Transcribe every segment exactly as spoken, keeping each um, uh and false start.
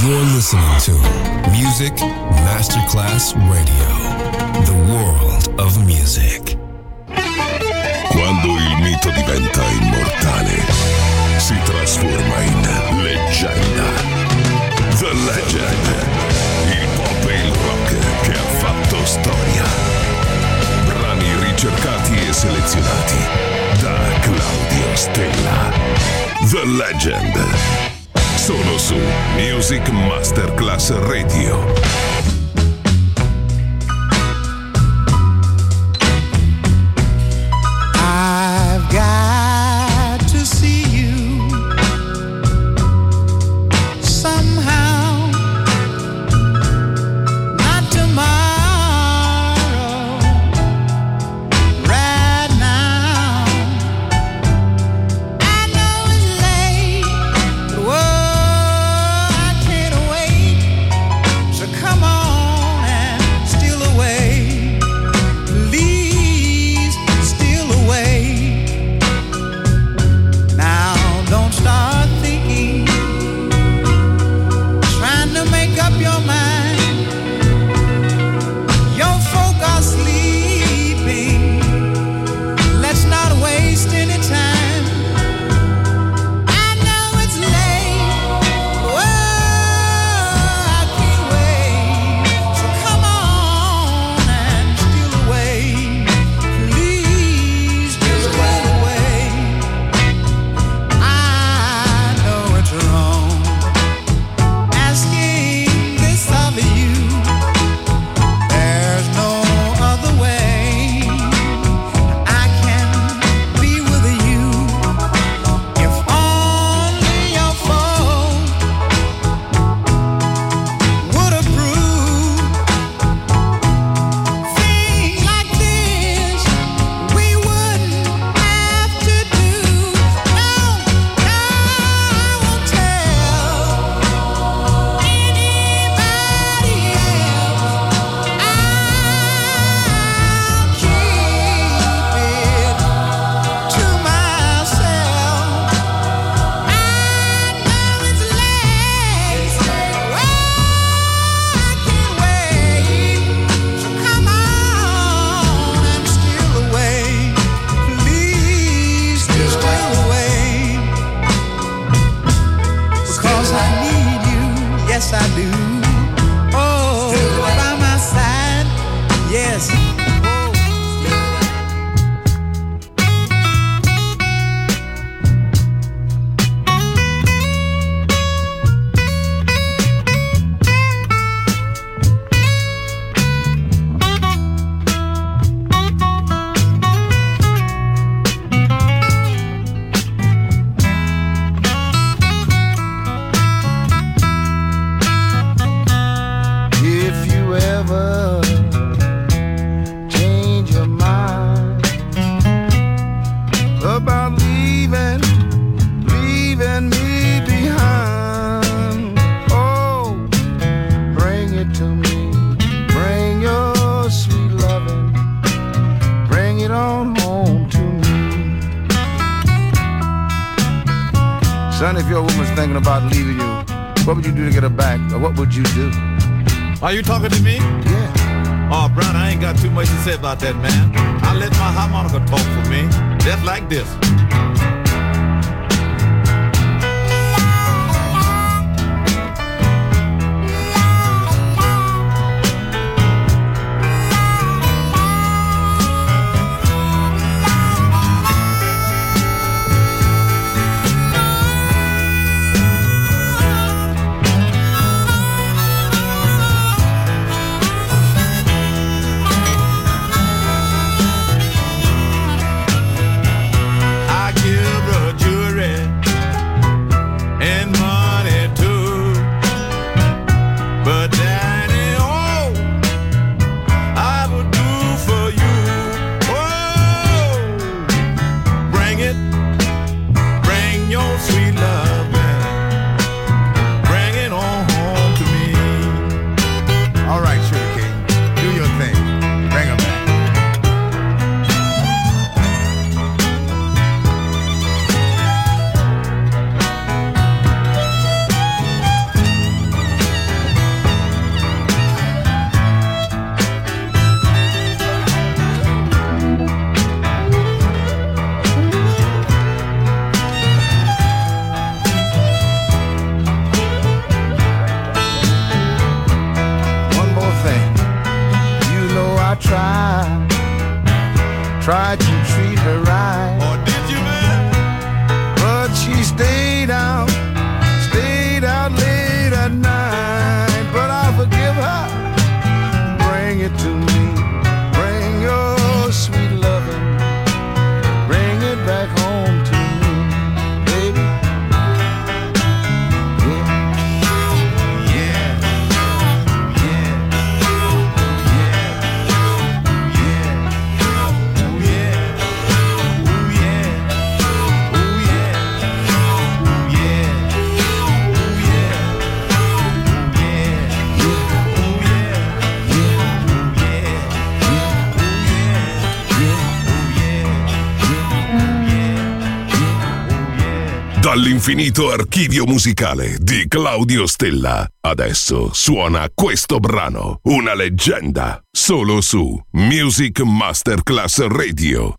You're listening to Music Masterclass Radio, the world of music. Quando il mito diventa immortale, si trasforma in leggenda. The Legend, il pop e il rock che ha fatto storia. Brani ricercati e selezionati da Claudio Stella. The Legend, solo su Music Masterclass Radio. Are you talking to me? Yeah. Oh, Brown, I ain't got too much to say about that, man. I let my harmonica talk for me, just like this. I give all'infinito archivio musicale di Claudio Stella. Adesso suona questo brano, una leggenda, solo su Music Masterclass Radio.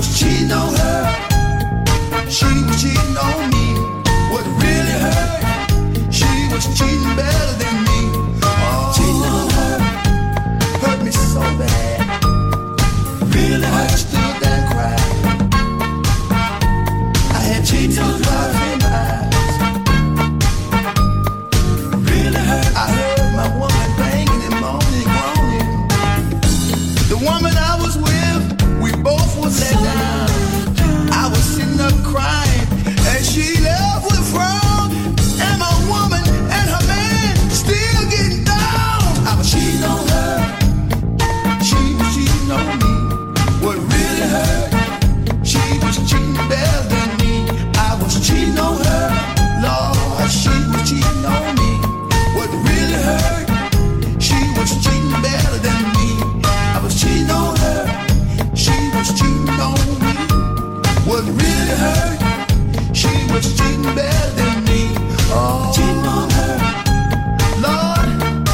She was cheating on me. What really hurt cheating better than me. Oh, cheating on her, Lord,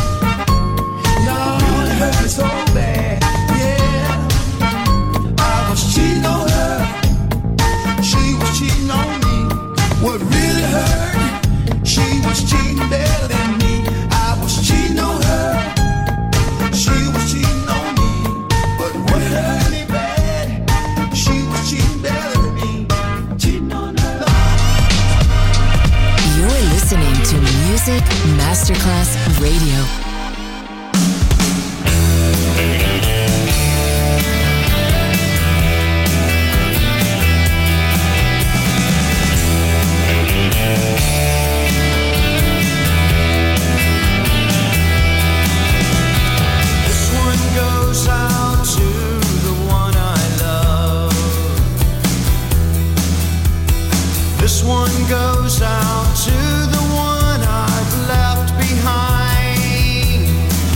y'all hurt me so bad. Yeah, I was cheating on her, she was cheating on me. What really hurt, she was cheating better than me. I was cheating on her, she was cheating on me. But what hurt me bad, she was cheating better than me. Cheating on her. You're listening to Music Masterclass Radio. This one goes out to the one I've left behind.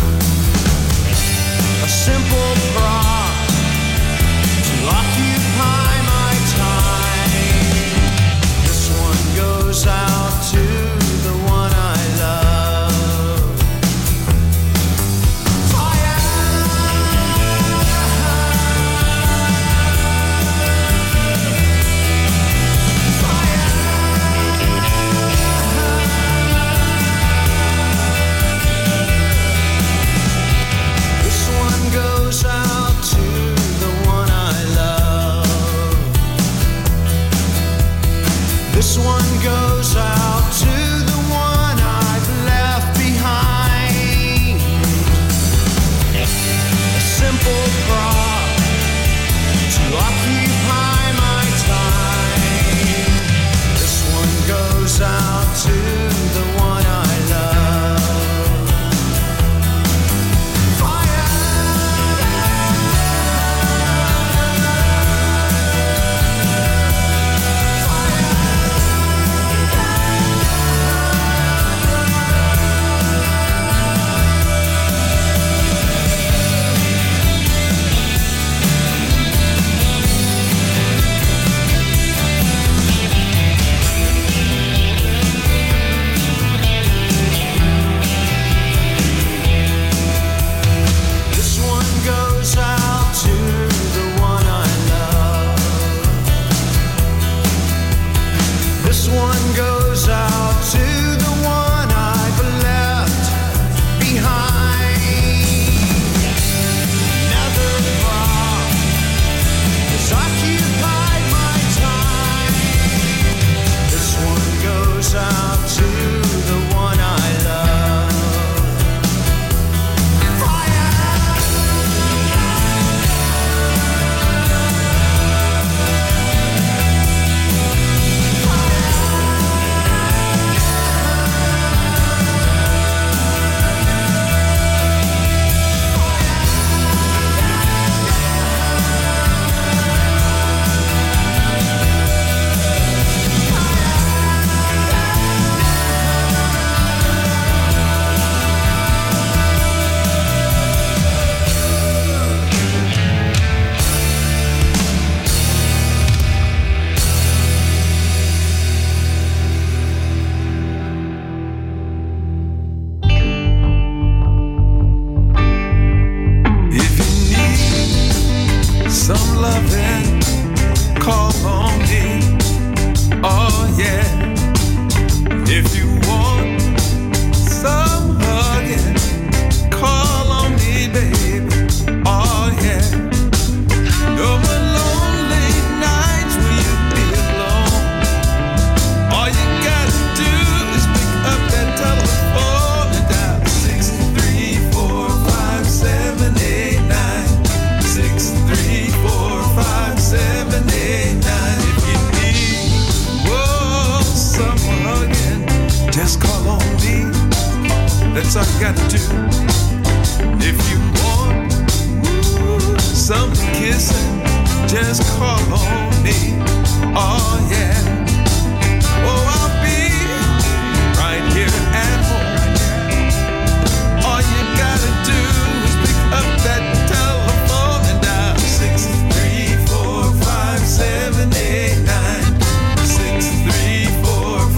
A simple prop to occupy my time. This one goes out to the one I love. Fire! Goes out to the one I love. This one goes out to the one I've left behind. A simple prop to occupy my time. This one goes out to the one I love. That's all you gotta do. If you want ooh, some kissing, just call on me. Oh yeah. Oh, I'll be right here at home. All you gotta do is pick up that telephone and dial six three four five seven eight nine. Six three four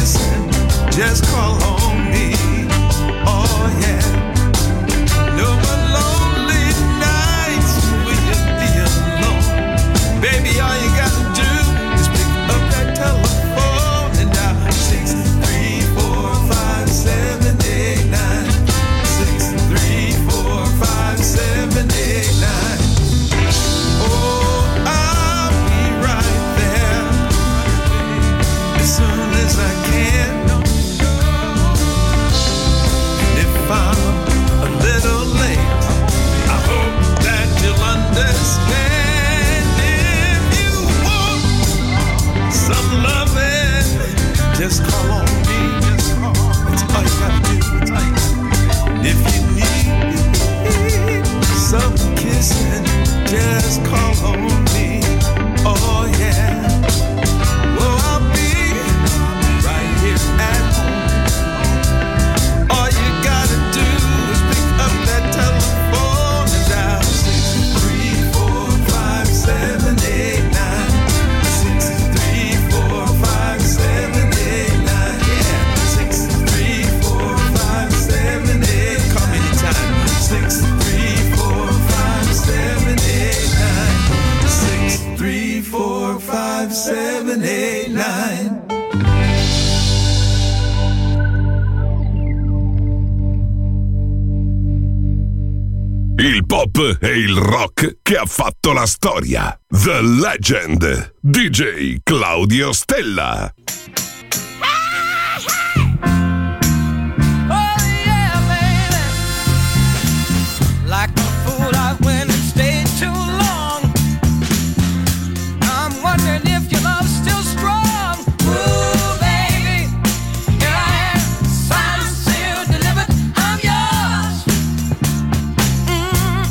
kissing, just call on me. Oh yeah. No more lonely nights when you be alone. Baby, all you gotta do is pick up that telephone and dial six three four five seven eight nine. Six three four five seven eight nine. Oh, I'll be right there as soon as I can. If I'm a little late, I hope that you'll understand. If you want some loving, just call on me. That's all you gotta do. If you need some kissing, just call on me. Oh yeah. Well, I'll be right here at home. All you gotta do is pick up that telephone and dial six three four five seven eight nine. Six three four five seven eight nine. Yeah, six three four five seven eight. Call me anytime. Six three four five seven eight nine. Six three four five seven eight nine. Il pop e il rock che ha fatto la storia. The Legend. D J Claudio Stella. Oh yeah, baby. Like a fool, I went and stayed too long. I'm wondering if your love's still strong. Ooh, baby, here I am, signed, sealed, delivered. I'm yours. Mm.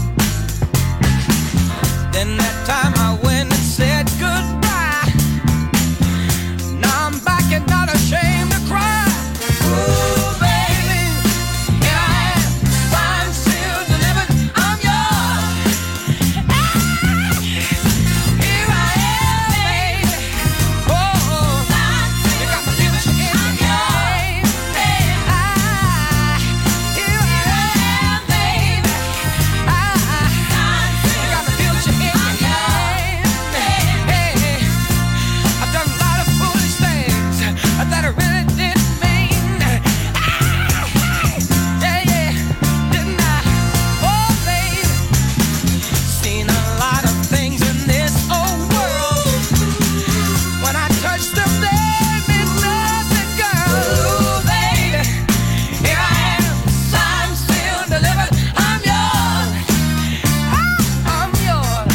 Then that time I went and said goodbye. Now I'm back and not ashamed to cry. Ooh, baby, here I am, signed, sealed, delivered. I'm yours. Ah, here I am, baby. Oh, you got my future in your hand. Ah, here I am, baby. Ah, you got my future in your hand. Hey, I've done a lot of foolish things that I really didn't mean. Ah, yeah, yeah, didn't I? Oh, baby, seen a lot of things in this old world. When I touch them, they mean nothing, girl. Ooh, baby, here I am, signed, sealed, delivered. I'm yours. Ah, I'm yours.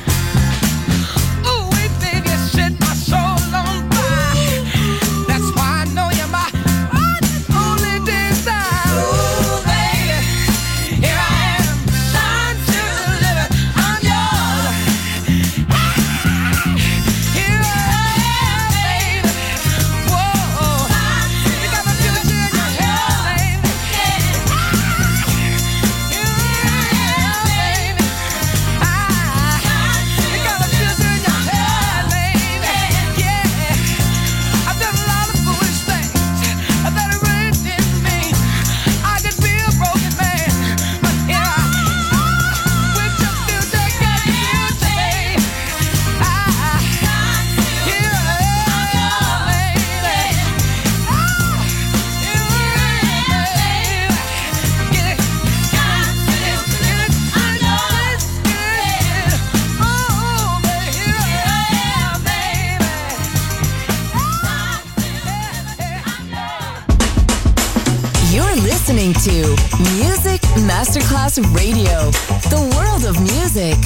Ooh, wait, baby, you set my soul on fire. That's why I know you're my one and only desire. Ooh, baby, here I am, signed, sealed, delivered. I'm yours. Ah, here I am, baby. Whoa, you got my future in your hand, baby. Ah, here I am, baby. Ah, you got my future in your hand, baby. Yeah, I've done a lot of foolish things that I really didn't mean. I could be a broken man, but here I am with your future, got your future, baby. Ah, here I am, baby. Ah, here I am, baby. Get it, got it, get it, I know it's good. Oh, baby, here I am, baby. You're listening to Music Masterclass Radio, the world of music.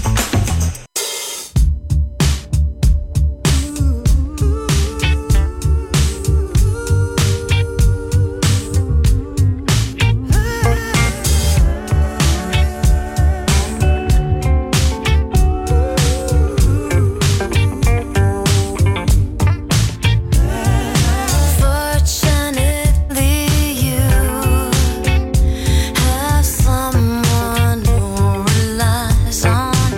Fortunately, you have someone who relies on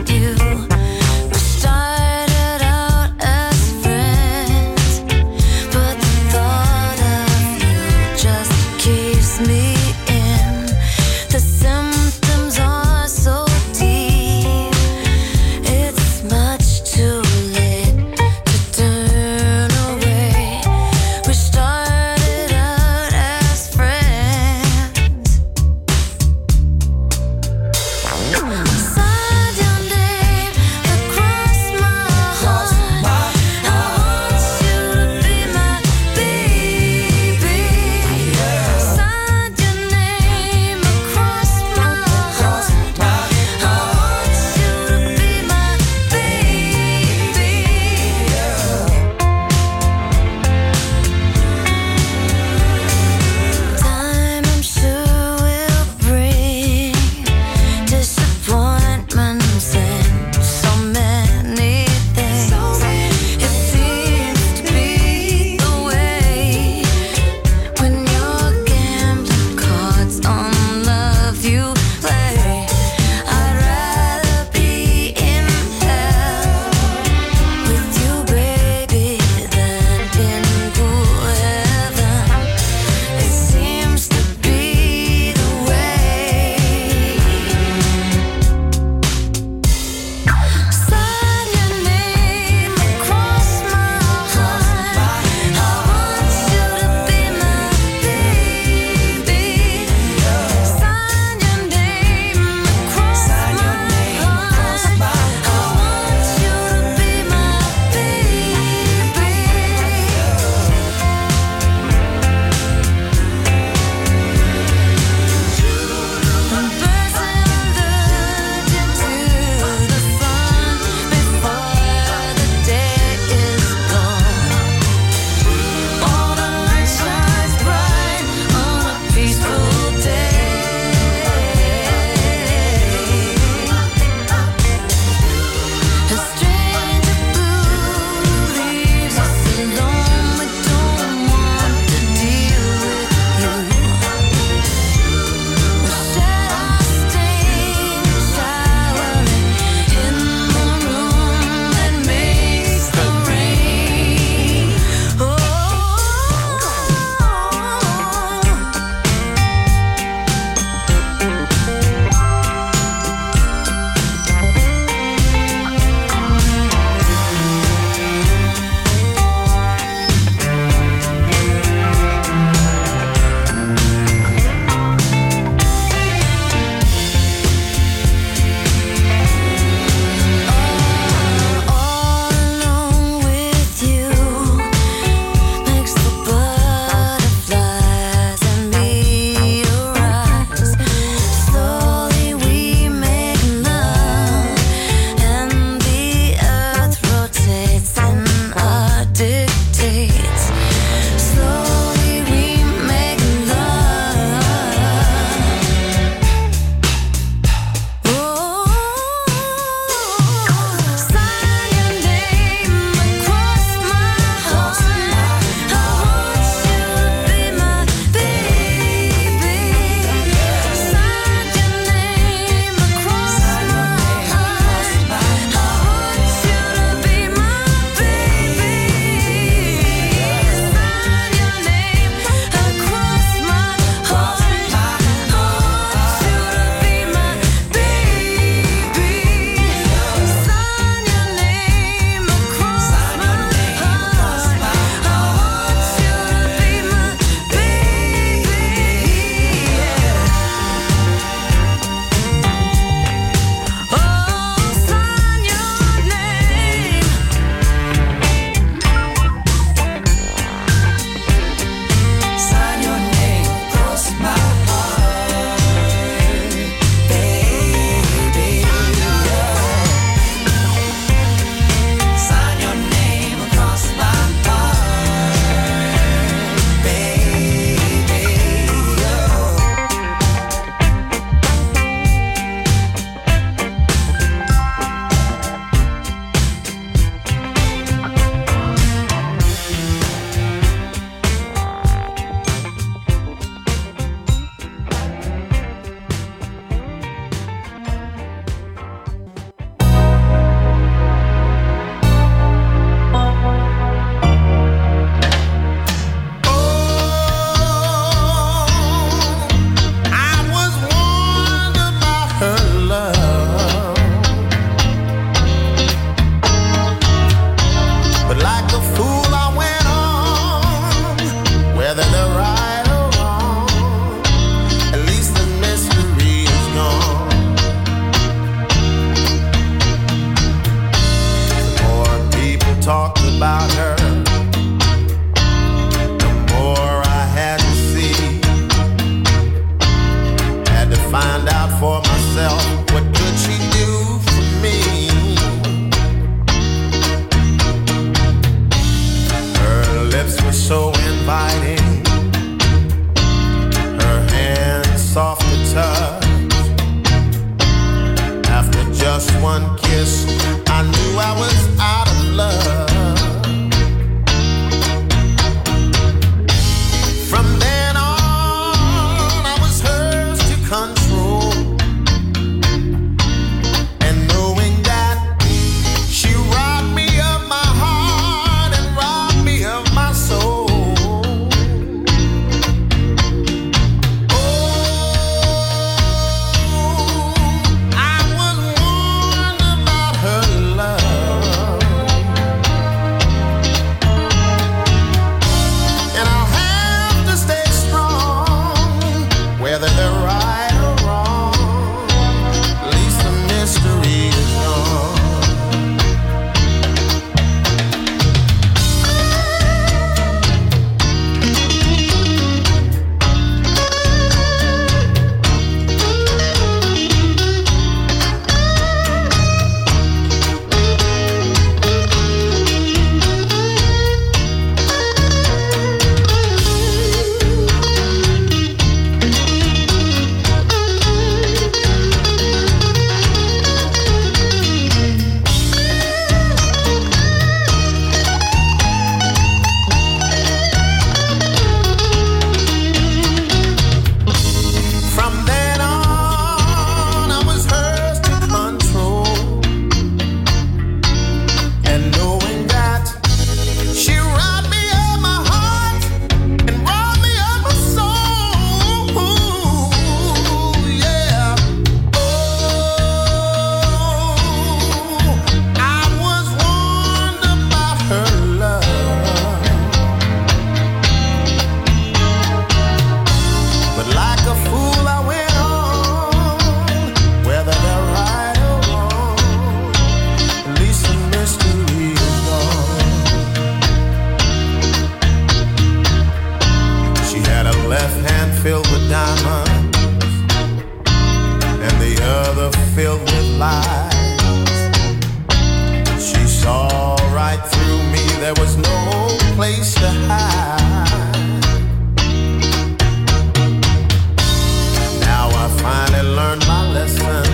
Now I finally learned my lesson,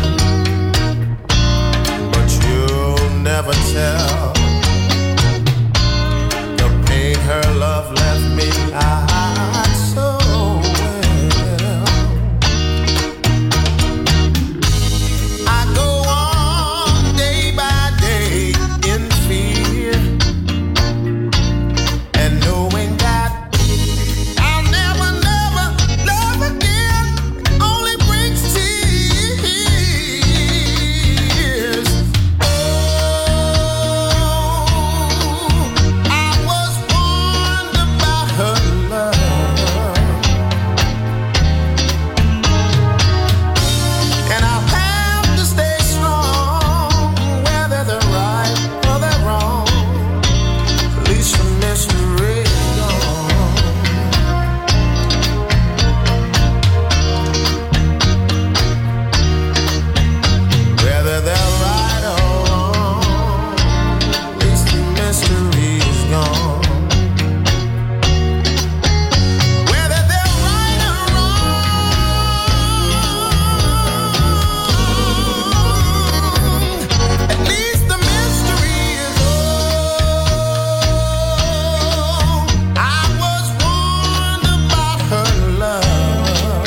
but you'll never tell the pain her love left me. I so well. I go on day by day in fear, and knowing that I'll never, never love again only brings tears. Oh, I was warned about her love, and I'll have to stay strong, whether they're right or they're wrong. At least the mystery is gone. Whether they're right or wrong, at least the mystery is gone. Whether they're right or wrong, at least the mystery is gone. I was warned about her love.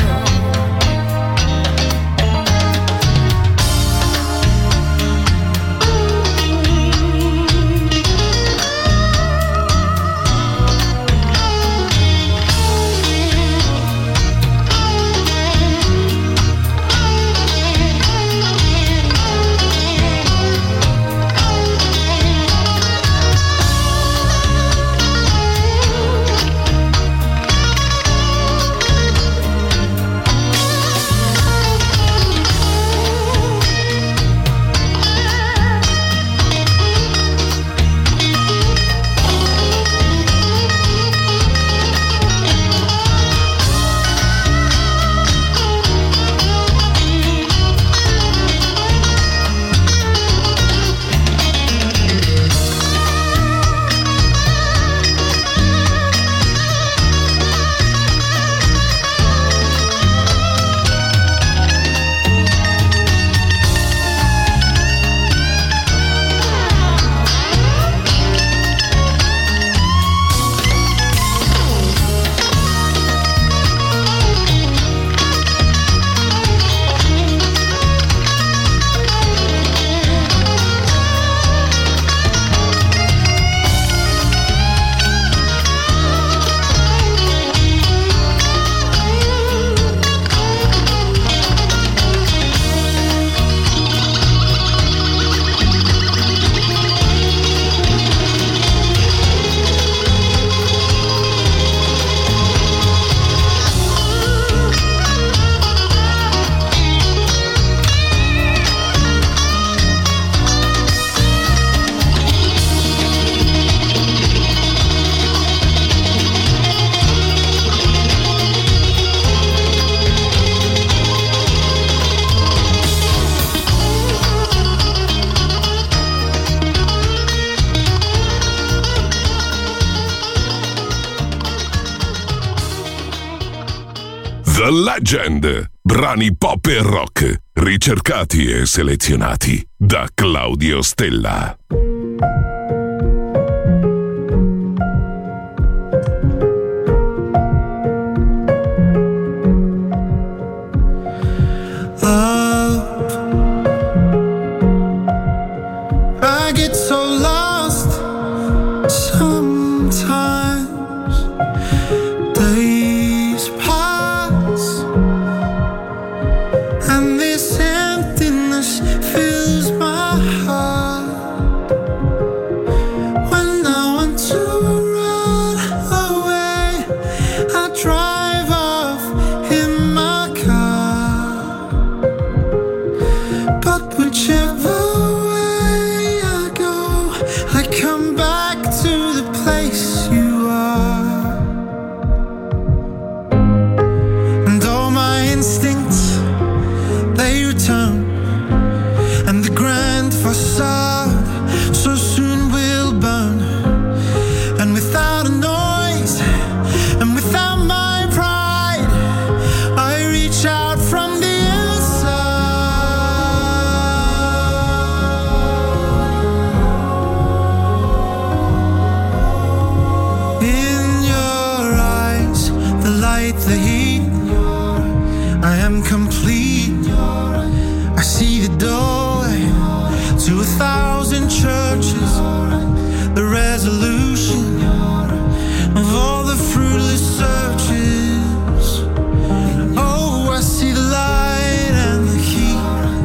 The Legend. Brani pop e rock, ricercati e selezionati da Claudio Stella. I get so lost sometimes. Days pass and this emptiness fills my heart when I want to run away. thousand churches, the resolution of all the fruitless searches. Oh, I see the light and the heat.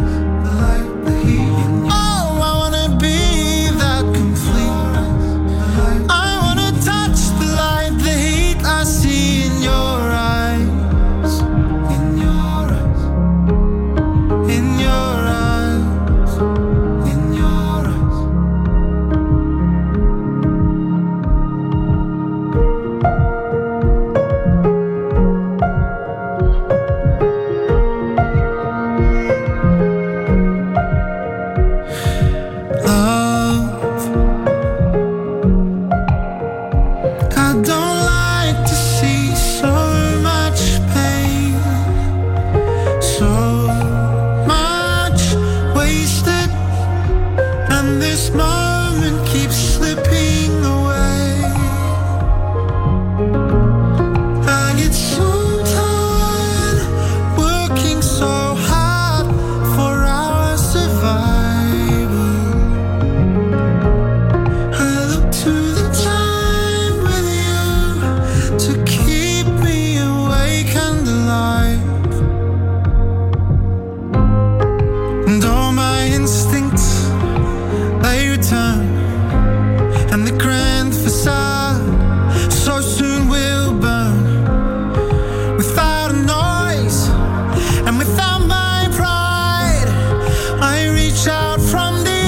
Oh, I wanna be that complete. I wanna touch the light, the heat I see in your eyes. In your eyes. In your eyes. In your eyes. Love, I don't like to see so much pain, so much wasted, and this moment keeps slipping away. I get so tired working so hard for our survival. I look to the time with you to keep me awake and alive. And all my instincts, they return, and the grand facade so soon will burn. Without a noise and without my pride, I reach out from the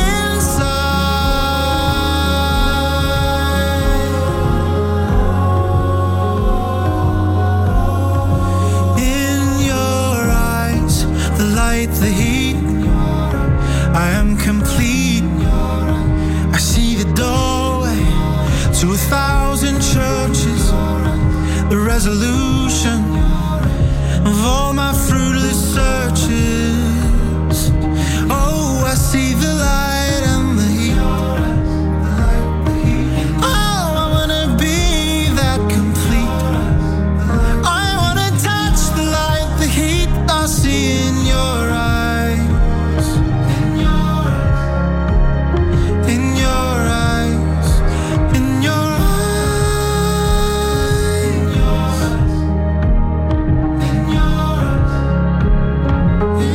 inside. In your eyes, the light, the heat, I am complete. I see the doorway to a thousand churches, the resolution of all my fruitless searches. Oh, I see the light and the heat. Oh, I wanna be that complete. I wanna touch the light, the heat I see in your eyes. In your eyes. In your eyes. In your eyes. In your eyes.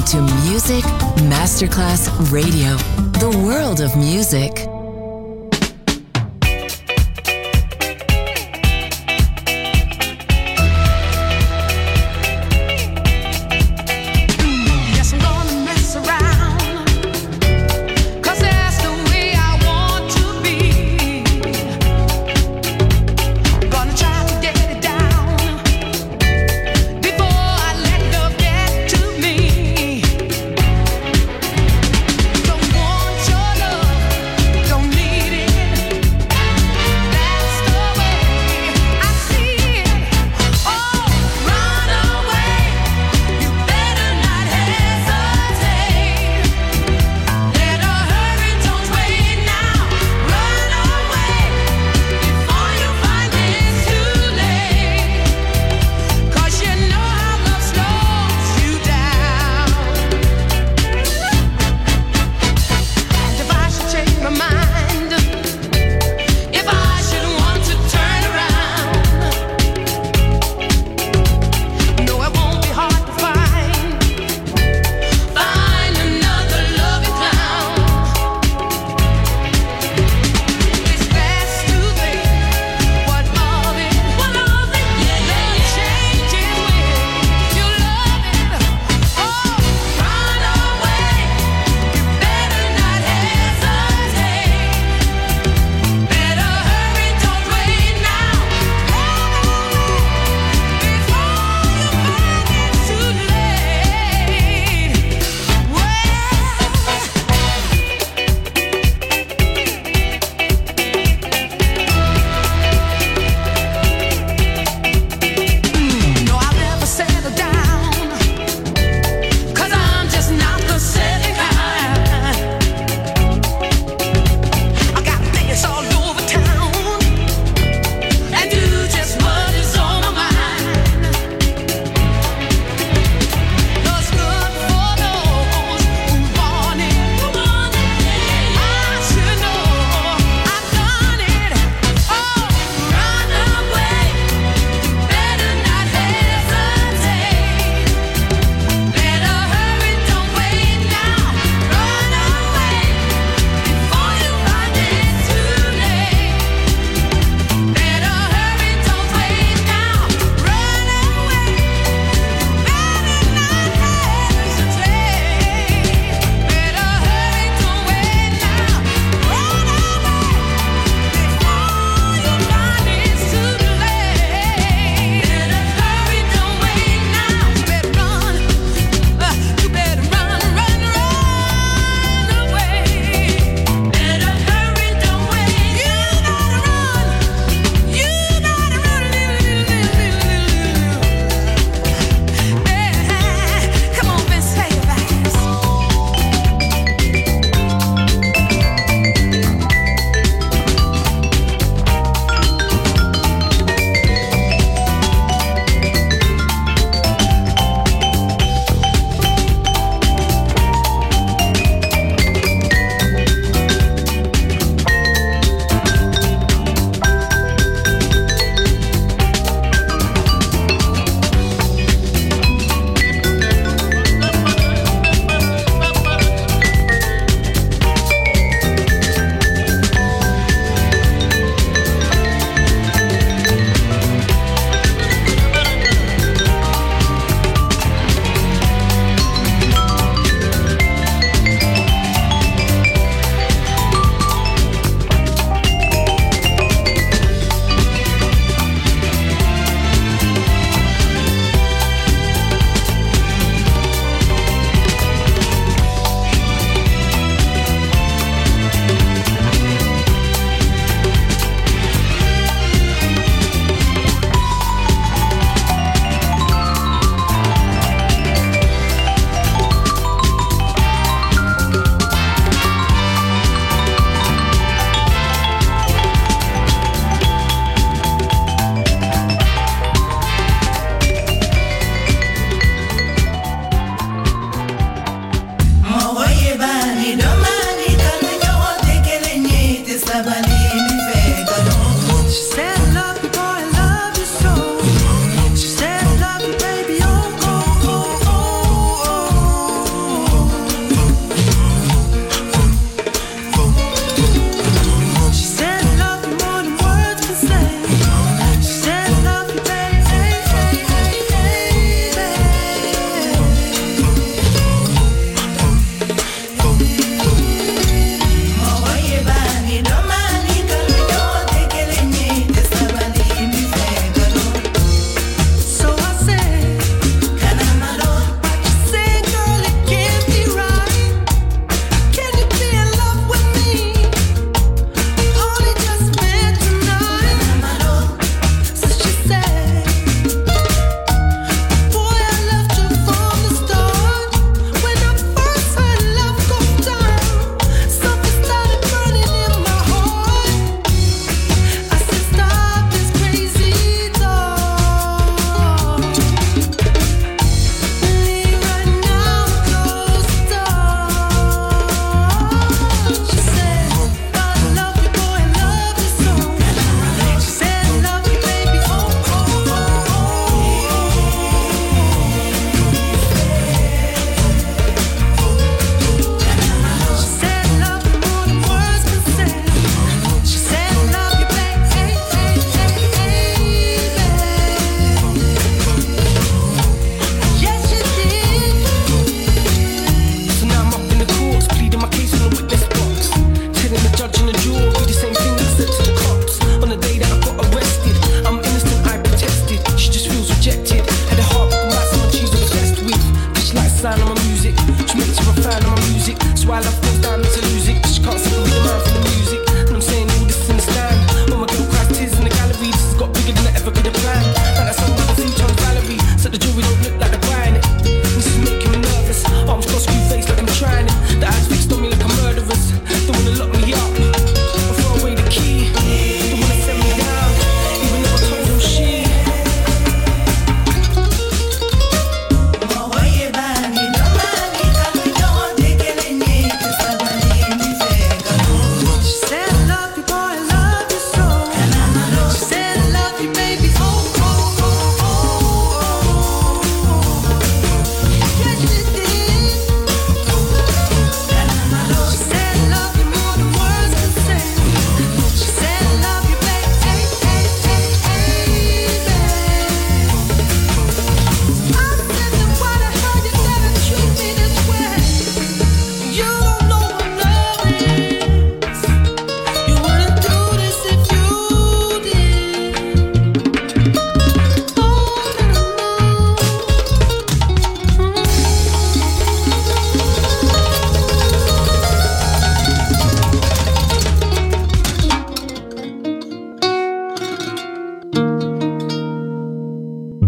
to Music Masterclass Radio, the world of music. Don't want your love.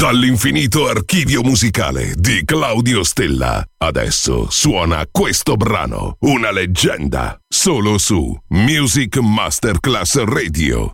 Dall'infinito archivio musicale di Claudio Stella. Adesso suona questo brano, una leggenda, solo su Music Masterclass Radio.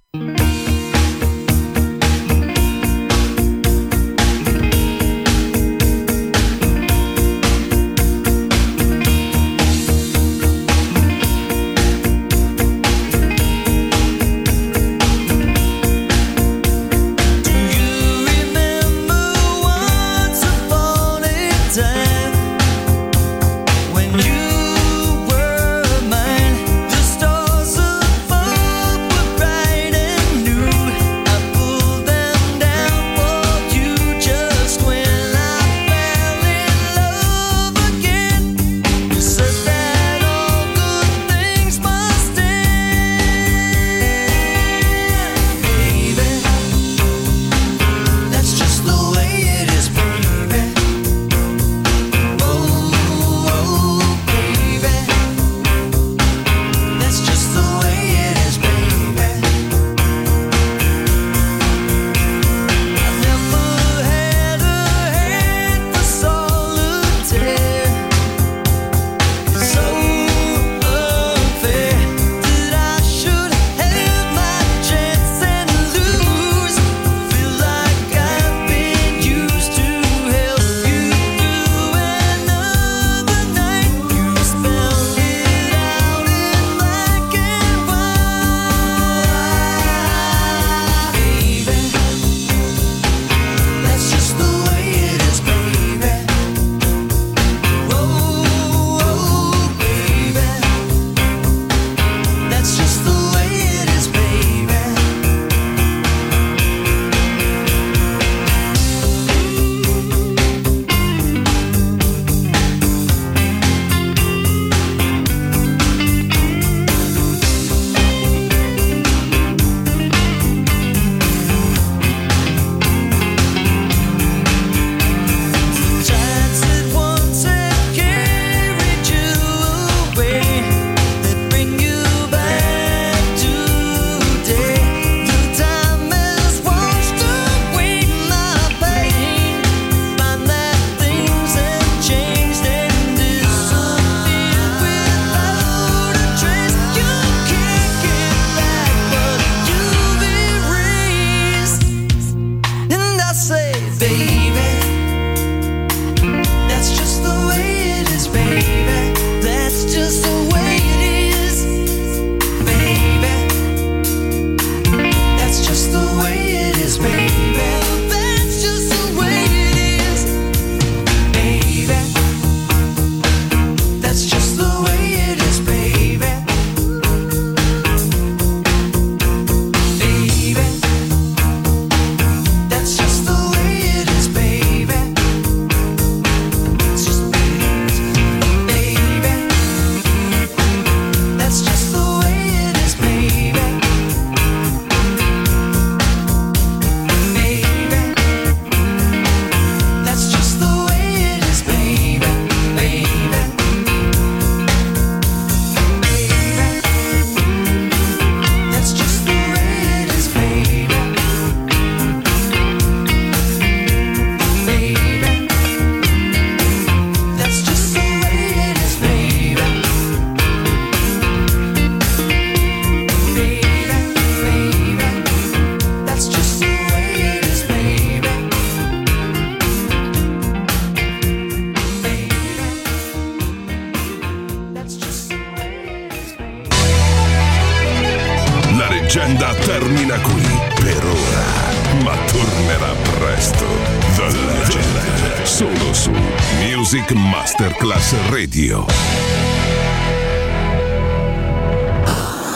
leggenda termina qui per ora, ma tornerà presto. The Legend, solo su Music Masterclass Radio.